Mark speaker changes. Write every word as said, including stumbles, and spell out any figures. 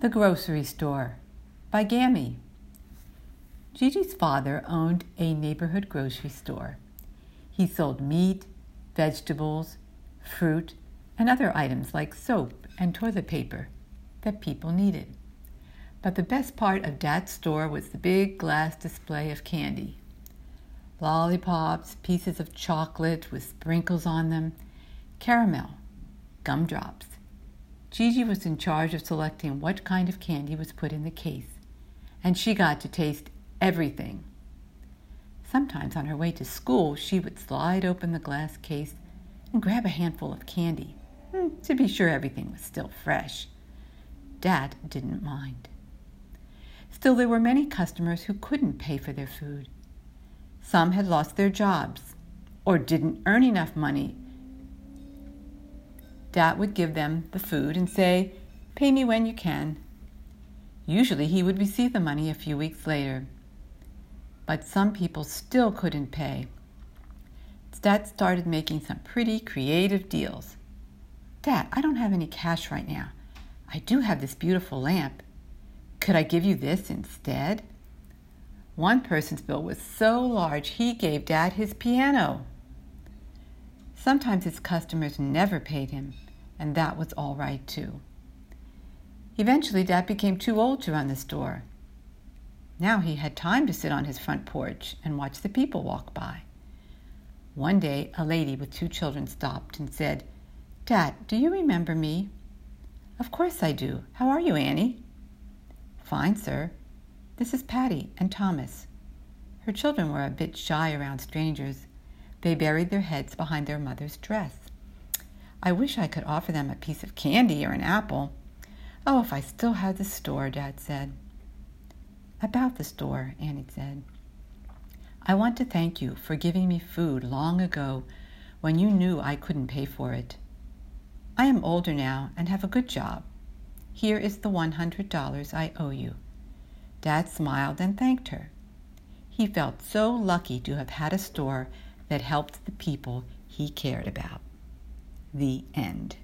Speaker 1: The Grocery Store by Gammy. Gigi's father owned a neighborhood grocery store. He sold meat, vegetables, fruit, and other items like soap and toilet paper that people needed. But the best part of Dad's store was the big glass display of candy. Lollipops, pieces of chocolate with sprinkles on them, caramel, gumdrops. Gigi was in charge of selecting what kind of candy was put in the case, and she got to taste everything. Sometimes on her way to school, she would slide open the glass case and grab a handful of candy, to be sure everything was still fresh. Dad didn't mind. Still, there were many customers who couldn't pay for their food. Some had lost their jobs or didn't earn enough money. Dad would give them the food and say, "Pay me when you can." Usually he would receive the money a few weeks later. But some people still couldn't pay. Dad started making some pretty creative deals. "Dad, I don't have any cash right now. I do have this beautiful lamp. Could I give you this instead?" One person's bill was so large he gave Dad his piano. Sometimes his customers never paid him, and that was all right too. Eventually, Dad became too old to run the store. Now he had time to sit on his front porch and watch the people walk by. One day, a lady with two children stopped and said, "Dad, do you remember me?" "Of course I do. How are you, Annie?" "Fine, sir. This is Patty and Thomas." Her children were a bit shy around strangers. They buried their heads behind their mother's dress. "I wish I could offer them a piece of candy or an apple. Oh, if I still had the store," Dad said. "About the store," Annie said. "I want to thank you for giving me food long ago when you knew I couldn't pay for it. I am older now and have a good job. Here is the one hundred dollars I owe you." Dad smiled and thanked her. He felt so lucky to have had a store that helped the people he cared about. The end.